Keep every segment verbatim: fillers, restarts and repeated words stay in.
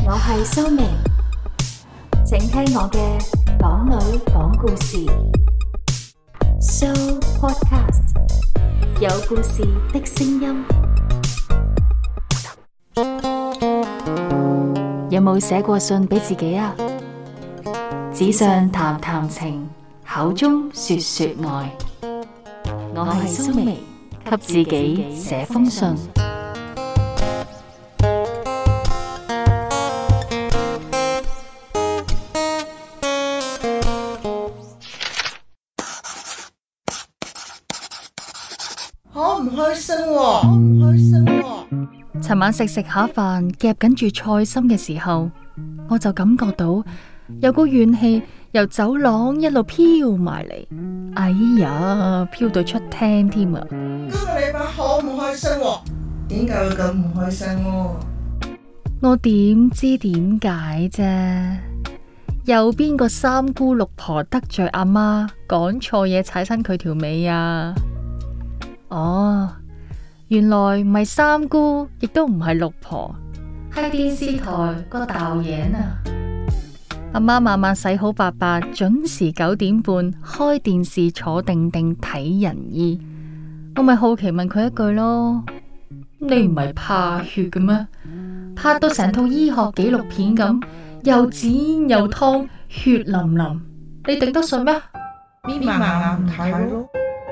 我係蘇眉，請聽我嘅港女講故事。So Podcast 有故事的聲音。有冇寫過信俾自己啊？紙上談談情，口中說說愛。我係蘇眉，給自己寫封信。 好唔開心喎，好唔開心喎。 尋晚食食下飯，夾緊住菜心嘅時候，我就感覺到有股怨氣由走廊一路飄埋嚟。哎呀，飄到出廳添啊！ 今個禮拜好唔開心喎，點解會咁唔開心喎？ 我點知點解啫？有邊個三姑六婆得罪阿媽，講錯嘢踩親佢條尾啊？哦，原來唔係三姑，亦都唔係六婆，係電視台個導演啊！阿媽晚晚洗好白白，準時九點半開電視，坐定定睇人醫。我咪好奇問佢一句咯：你唔係怕血嘅咩？拍到成套醫學紀錄片咁，又剪又湯，血淋淋，你頂得順咩？ 咪咪眼眼唔睇咯。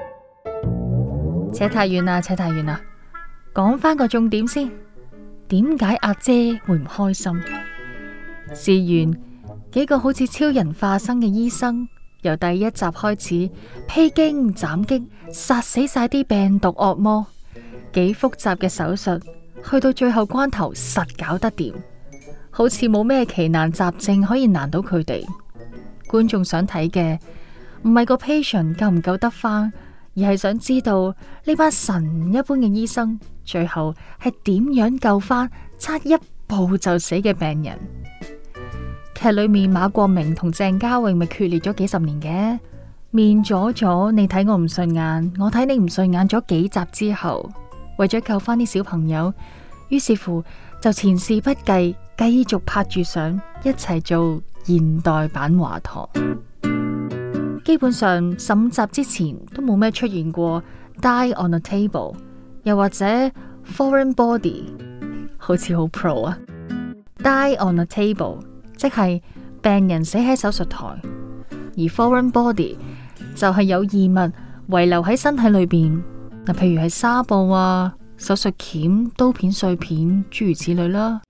扯太遠啦，扯太遠啦。講翻個重點先，點解阿姐會唔開心？事緣幾個好似超人化身嘅醫生，由第一集開始披荊斬棘，殺死晒啲病毒惡魔，幾複雜嘅手術，去到最後關頭實搞得掂，好似冇咩奇難雜症可以難到佢哋。觀眾想睇嘅唔係個 patient 救唔救得翻，而係想知道呢班神一般嘅醫生最後係點樣救翻差一步就死嘅病人。劇裏面馬國明同鄭嘉穎咪決裂咗幾十年嘅，面咗咗，你睇我唔順眼，我睇你唔順眼咗幾集之後，為咗救翻啲小朋友，於是乎就前事不計，繼續拍住相一齊做現代版華佗。基本上十五集之前都冇咩出現過 Die on a table， 又或者 foreign body， 好似好 pro 啊。Die on a table 即係病人死喺手術台，而 foreign body 就係有異物遺留喺身體裏邊，嗱，譬如係紗布啊、手術鉗、刀片碎片，諸如此類啦。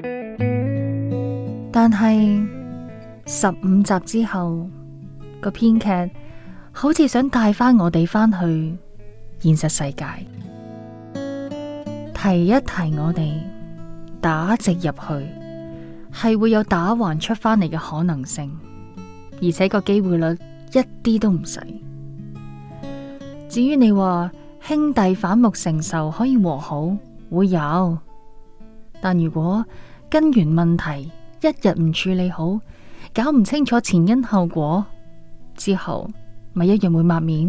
但係十五集之後，個編劇好似想帶翻我哋翻去現實世界，提一提我哋打直入去係會有打橫出翻嚟嘅可能性，而且個機會率一啲都唔細。至於你話兄弟反目成仇可以和好，會有，但如果根源問題一日唔處理好，搞唔清楚前因後果之後，咪一樣會抹面。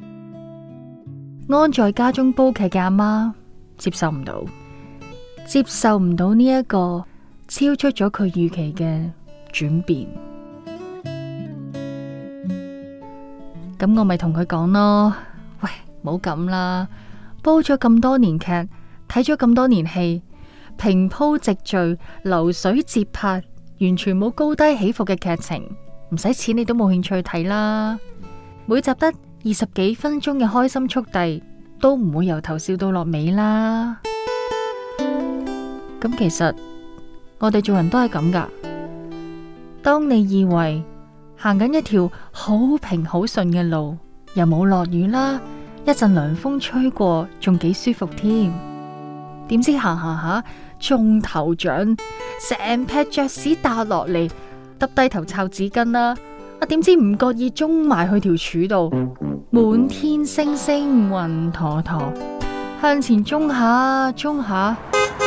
安在家中煲劇嘅阿媽接受唔到，接受唔到呢一個超出咗佢預期嘅轉變。咁我咪同佢講咯，喂，唔好咁啦，煲咗咁多年劇，睇咗咁多年戲，平鋪直敘，流水節拍，完全冇高低起伏嘅劇情，唔使錢你都冇興趣睇啦。每集得二十幾分鐘嘅開心速遞，都唔會由頭笑到落尾啦。咁其實我哋做人都係咁噶。當你以為行緊一條好平好順嘅路，又冇落雨啦，一陣涼風吹過，仲幾舒服添。點知行行下中頭獎，成劈雀屎打落嚟，耷低頭抄紙巾啦。啊，點知唔覺意中埋去條柱度，滿天星星雲陀陀，向前中下中下，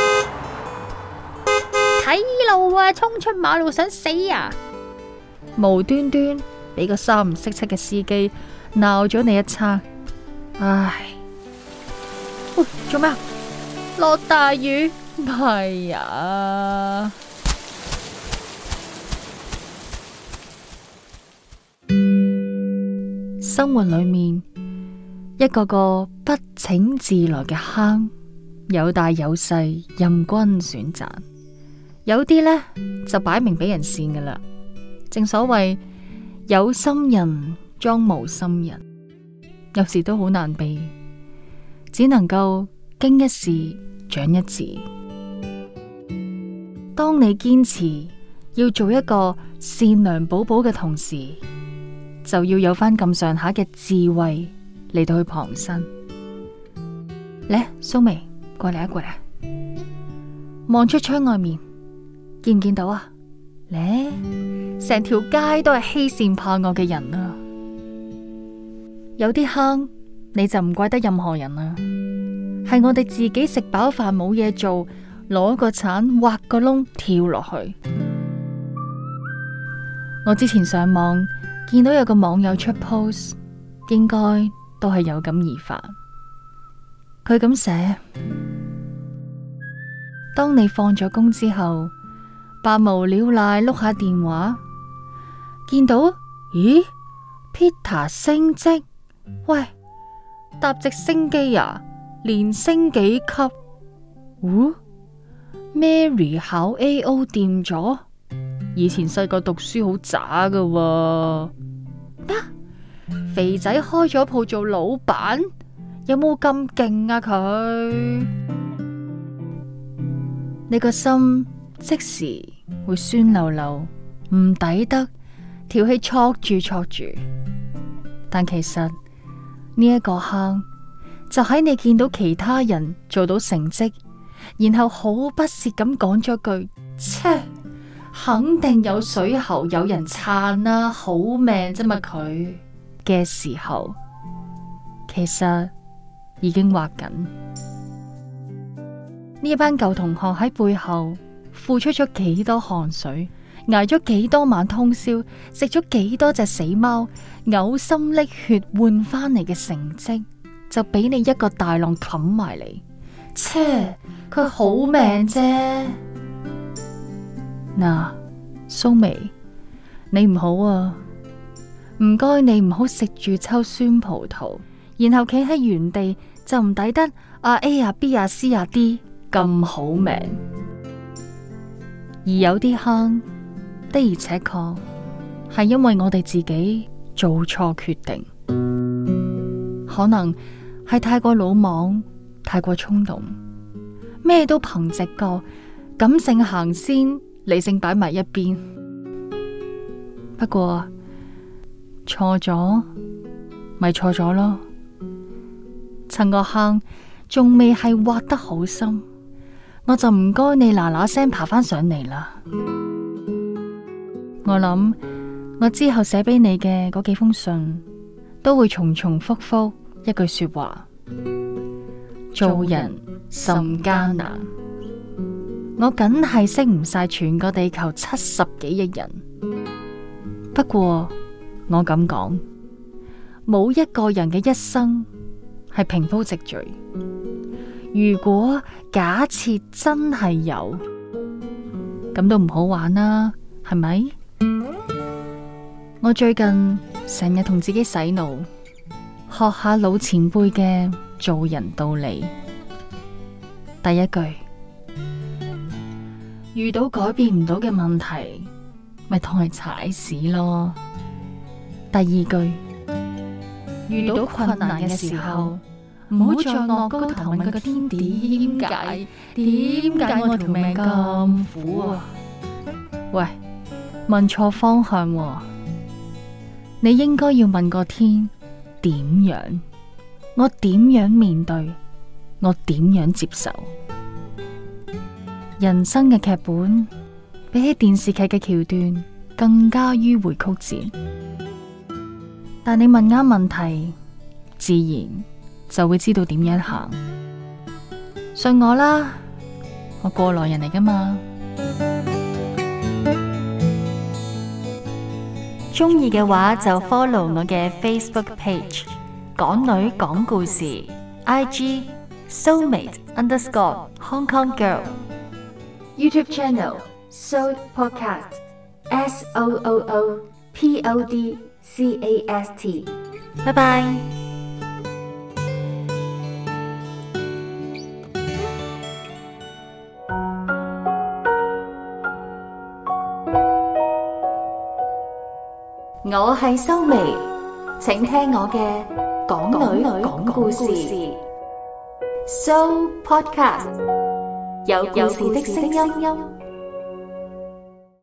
睇路啊！衝出馬路想死啊！無端端俾個三唔識七嘅司機鬧咗你一餐，唉！喂，做咩啊？落大雨，係啊！ 生活裏面一個個不請自來嘅坑，有大有細，任君選擇。有啲呢，就擺明俾人跣噶啦。正所謂有心人裝無心人，有時都好難避，只能夠經一事長一智。當你堅持要做一個善良寶寶嘅同時，就要有翻咁上下嘅智慧嚟到去旁身。嚟，蘇眉，過嚟啊，過嚟啊！望出窗外面，見唔見到啊？嚟，成條街都係欺善怕惡嘅人啊！有啲坑你就唔怪得任何人啦，係我哋自己食飽飯冇嘢做，攞個鏟挖個窿跳落去。我之前上網見到有個網友出 post， 應該都係有感而發。佢咁寫：當你放咗工之後，百無聊賴碌下電話，見到咦 Peter 升職，喂，搭直升機啊，連升幾級？哦，Mary 考 A O 掂咗。以前細個讀書好渣噶喎，咩？肥仔開咗鋪做老闆，有冇咁勁啊佢？你個心即時會酸溜溜，唔抵得，條氣戳住戳住。但其實呢一個坑就喺你見到其他人做到成績，然後好不屑咁講咗句切，肯定有水喉有人撐啦，好命啫嘛佢嘅時候，其實已經畫緊。呢一班舊同學喺背後付出咗幾多汗水，挨咗幾多晚通宵，食咗幾多隻死貓，嘔心瀝血換翻嚟嘅成績，就俾你一個大浪冚埋嚟。切，佢好命啫。嗱，蘇眉，你唔好啊，唔該你唔好食住抽酸葡萄，然後企喺原地就唔抵得啊 A 啊 B 啊 C 啊 D 咁好命。而有啲坑的而且確係因為我哋自己做錯決定，可能係太過魯莽，太過衝動，咩都憑直覺，感性行先，理性擺埋一邊。不過錯咗咪錯咗咯，趁個坑仲未係挖得好深，我就唔該你嗱嗱聲爬翻上嚟啦。我諗我之後寫俾你嘅嗰幾封信都會重重複複一句說話：做人甚艱難。我梗係識唔晒全個地球七十幾億人，不過我咁講，冇一個人嘅一生係平鋪直敘。如果假設真係有，咁都唔好玩啦，係咪？我最近成日同自己洗腦，學下老前輩嘅做人道理。第一句，遇到改變唔到嘅問題，咪當係踩屎咯。第二句，遇到困難嘅時候，唔好再惡高頭問個天點解？點解我條命咁苦啊？喂，問錯方向喎。你應該要問個天點樣？我點樣面對？我點樣接受？人生嘅劇本比起電視劇嘅橋段更加迂迴曲折，但你問啱問題，自然就會知道點樣行。信我啦，我過來人嚟㗎嘛。鍾意嘅話就 follow 我嘅 Facebook page 港女講故事 I G Soulmate underscore Hong Kong Girl YouTube channel Soul Podcast S O O O P O D C A S T 拜拜。 我係修眉，請聽我嘅港女講故事，So Podcast 有故事的聲音。